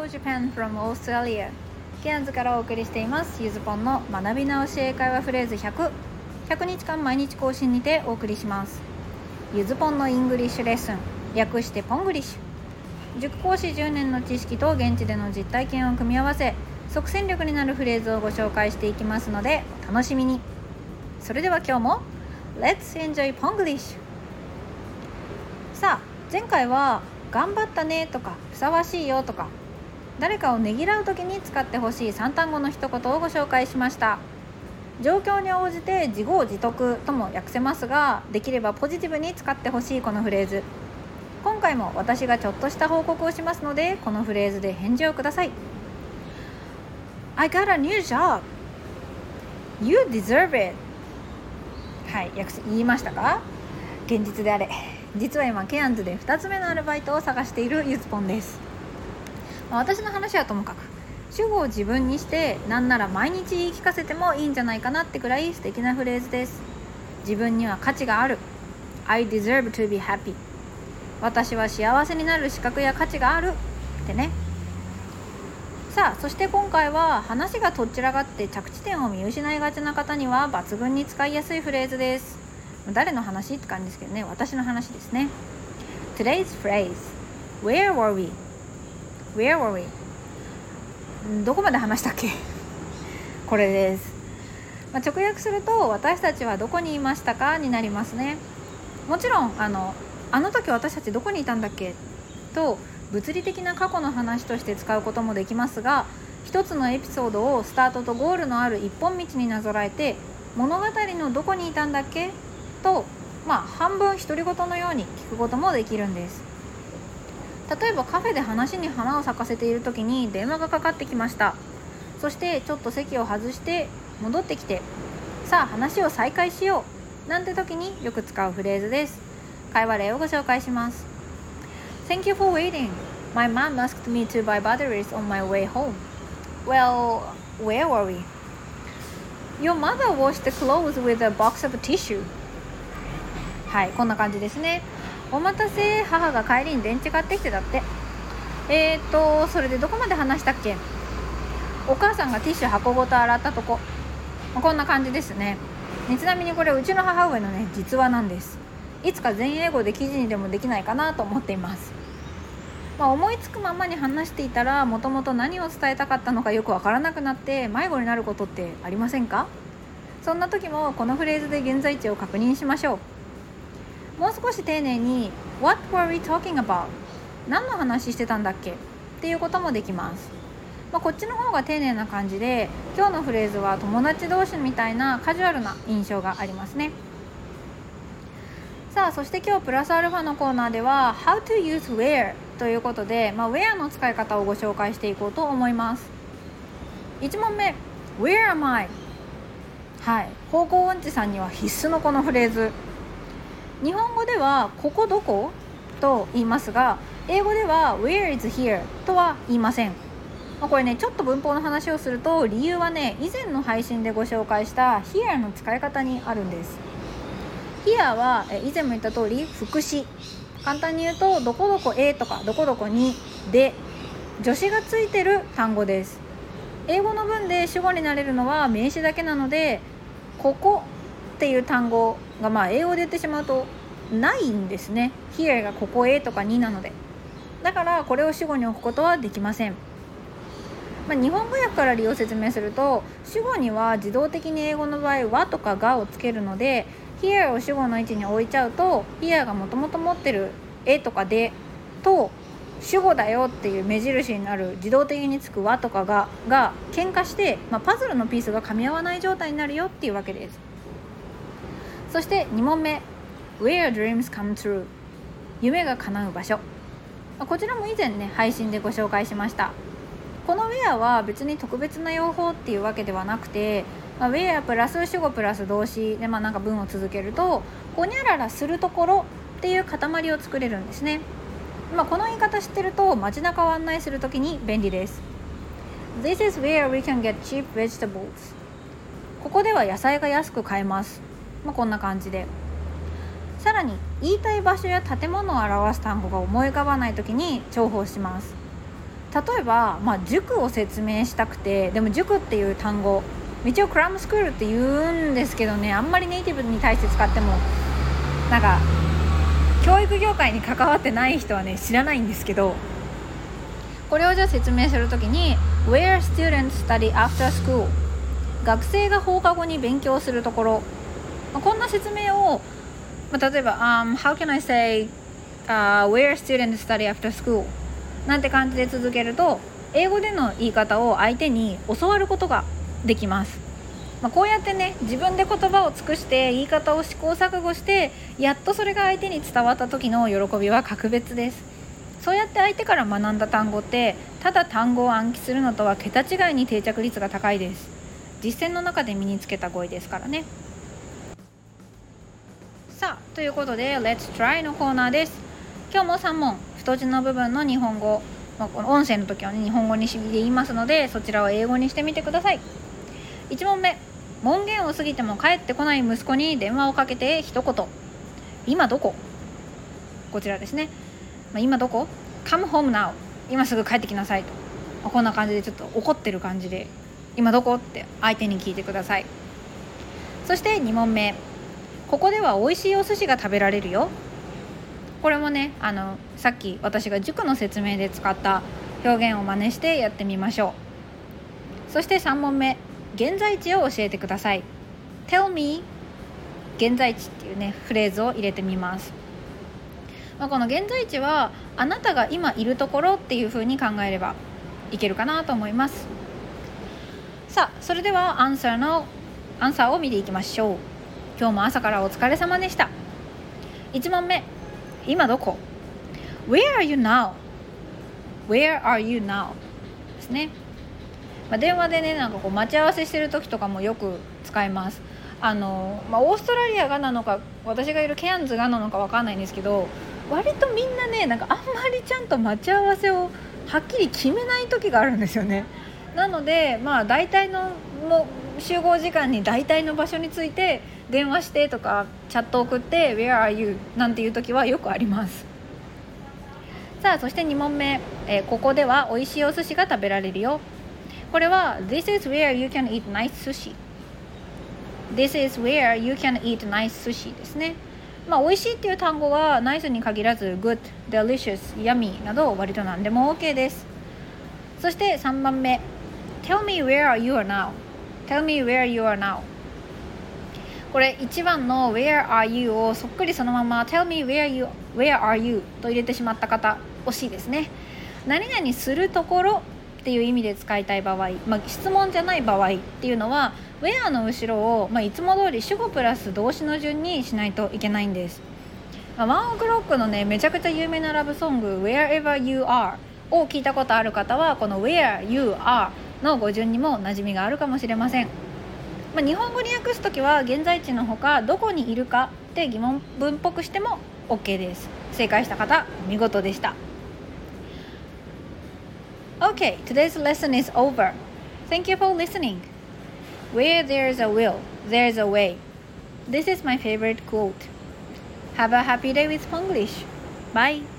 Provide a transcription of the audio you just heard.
Hello Japan from Australia。 ケアンズからお送りしていますゆずぽんの学び直し英会話フレーズ100 100日間毎日更新にてお送りします。ゆずぽんのイングリッシュレッスン、略してポングリッシュ。塾講師10年の知識と現地での実体験を組み合わせ、即戦力になるフレーズをご紹介していきますのでお楽しみに。それでは今日も Let's enjoy Ponglish。 さあ、前回は頑張ったねとかふさわしいよとか、誰かをねぎらうときに使ってほしい3単語の一言をご紹介しました。状況に応じて自業自得とも訳せますが、できればポジティブに使ってほしいこのフレーズ。今回も私がちょっとした報告をしますので、このフレーズで返事をください。 I got a new job. You deserve it。 はい、言いましたか？現実であれ。実は今ケアンズで2つ目のアルバイトを探しているゆずぽんです。私の話はともかく、主語を自分にしてなんなら毎日言い聞かせてもいいんじゃないかなってくらい素敵なフレーズです。自分には価値がある。 I deserve to be happy。 私は幸せになる資格や価値があるってね。さあ、そして今回は話がとっちらがって着地点を見失いがちな方には抜群に使いやすいフレーズです。誰の話って感じですけどね、私の話ですね。 Today's phrase Where were we? Where were we? どこまで話したっけこれです。直訳すると、私たちはどこにいましたかになりますね。もちろんあの時私たちどこにいたんだっけと物理的な過去の話として使うこともできますが、一つのエピソードをスタートとゴールのある一本道になぞらえて、物語のどこにいたんだっけと、半分独り言のように聞くこともできるんです。例えばカフェで話に花を咲かせている時に電話がかかってきました。そしてちょっと席を外して戻ってきて、さあ話を再開しようなんて時によく使うフレーズです。会話例をご紹介します。 Thank you for waiting. My mom asked me to buy batteries on my way home. Well, where were we? Your mother washed the clothes with a box of tissue. はい、こんな感じですね。お待たせ、母が帰りに電池買ってきてだって。それでどこまで話したっけ？お母さんがティッシュ箱ごと洗ったとこ。こんな感じですね。ちなみにこれうちの母上のね実話なんです。いつか全英語で記事にでもできないかなと思っています。思いつくままに話していたら、もともと何を伝えたかったのかよくわからなくなって迷子になることってありませんか？そんな時もこのフレーズで現在地を確認しましょう。もう少し丁寧に What were we talking about? 何の話してたんだっけっていうこともできます。こっちの方が丁寧な感じで、今日のフレーズは友達同士みたいなカジュアルな印象がありますね。さあ、そして今日プラスアルファのコーナーでは How to use where ということで、where の使い方をご紹介していこうと思います。1問目 Where am I? はい、方向音痴さんには必須のこのフレーズ。日本語ではここどこと言いますが、英語では Where is here とは言いません。これね、ちょっと文法の話をすると、理由はね、以前の配信でご紹介した here の使い方にあるんです。here は以前も言った通り副詞。簡単に言うと、どこどこへとかどこどこにで助詞がついてる単語です。英語の文で主語になれるのは名詞だけなので、ここっていう単語が英語で言ってしまうとないんですね。 here がここへとかになので、だからこれを主語に置くことはできません。日本語訳から理由を説明すると、主語には自動的に英語の場合はとかがをつけるので、 here を主語の位置に置いちゃうと、 here がもともと持ってるえとかでと主語だよっていう目印になる自動的につくはとかが喧嘩して、パズルのピースが噛み合わない状態になるよっていうわけです。そして2問目 Where dreams come true、 夢が叶う場所。こちらも以前ね配信でご紹介しました。この Where は別に特別な用法っていうわけではなくて、Where プラス主語プラス動詞で文を続けると、ほにゃららするところっていう塊を作れるんですね。この言い方知ってると街中を案内するときに便利です。 This is where we can get cheap vegetables。 ここでは野菜が安く買えます。こんな感じで、さらに言いたい場所や建物を表す単語が思い浮かばないときに重宝します。 例えば、塾を説明したくて、でも塾っていう単語一応クラムスクールって言うんですけどね、あんまりネイティブに対して使ってもなんか教育業界に関わってない人はね知らないんですけど、これをじゃあ説明するときに Where students study after school、 学生が放課後に勉強するところ、こんな説明を、例えば、How can I say、where students study after school なんて感じで続けると、英語での言い方を相手に教わることができます。こうやってね、自分で言葉を尽くして言い方を試行錯誤して、やっとそれが相手に伝わった時の喜びは格別です。そうやって相手から学んだ単語って、ただ単語を暗記するのとは桁違いに定着率が高いです。実践の中で身につけた語彙ですからね。さあ、ということで Let's try のコーナーです。今日も3問、太字の部分の日本語、この音声の時はね日本語にで言いますので、そちらを英語にしてみてください。1問目、門限を過ぎても帰ってこない息子に電話をかけて一言、今どこ？こちらですね。今どこ？ Come home now、 今すぐ帰ってきなさいと、こんな感じでちょっと怒ってる感じで今どこって相手に聞いてください。そして2問目、ここでは美味しいお寿司が食べられるよ。これもね、さっき私が塾の説明で使った表現を真似してやってみましょう。そして3問目、現在地を教えてください。 Tell me 現在地っていうねフレーズを入れてみます。この現在地はあなたが今いるところっていう風に考えればいけるかなと思います。さあ、それではアンサーを見ていきましょう。今日も朝からお疲れ様でした。1問目、今どこ？ Where are you now? Where are you now? ですね。電話でね、待ち合わせしてる時とかもよく使います。オーストラリアがなのか私がいるケアンズがなのか分かんないんですけど、割とみんなね、あんまりちゃんと待ち合わせをはっきり決めない時があるんですよね。なので大体の集合時間に大体の場所について電話してとかチャット送って Where are you? なんていう時はよくあります。さあ、そして2問目、ここでは美味しいお寿司が食べられるよ。これは This is where you can eat nice sushi。 This is where you can eat nice sushi ですね。美味しいっていう単語は nice に限らず good、delicious、yummy など割と何でも OK です。そして3番目、Tell me where you are now。 Tell me where you are now。 これ1番の Where are you をそっくりそのまま Tell me where are you と入れてしまった方、惜しいですね。何々するところっていう意味で使いたい場合、質問じゃない場合っていうのは Where の後ろを、いつも通り主語プラス動詞の順にしないといけないんです。ワンオクロックのねめちゃくちゃ有名なラブソング Wherever You Are を聞いたことある方は、この Where You Are の語順にも馴染みがあるかもしれません。日本語に訳すときは現在地のほかどこにいるかって疑問文っぽくしても OK です。正解した方見事でした。 Okay, today's lesson is over. Thank you for listening. Where there's a will, there's a way. This is my favorite quote. Have a happy day with Spanglish. Bye.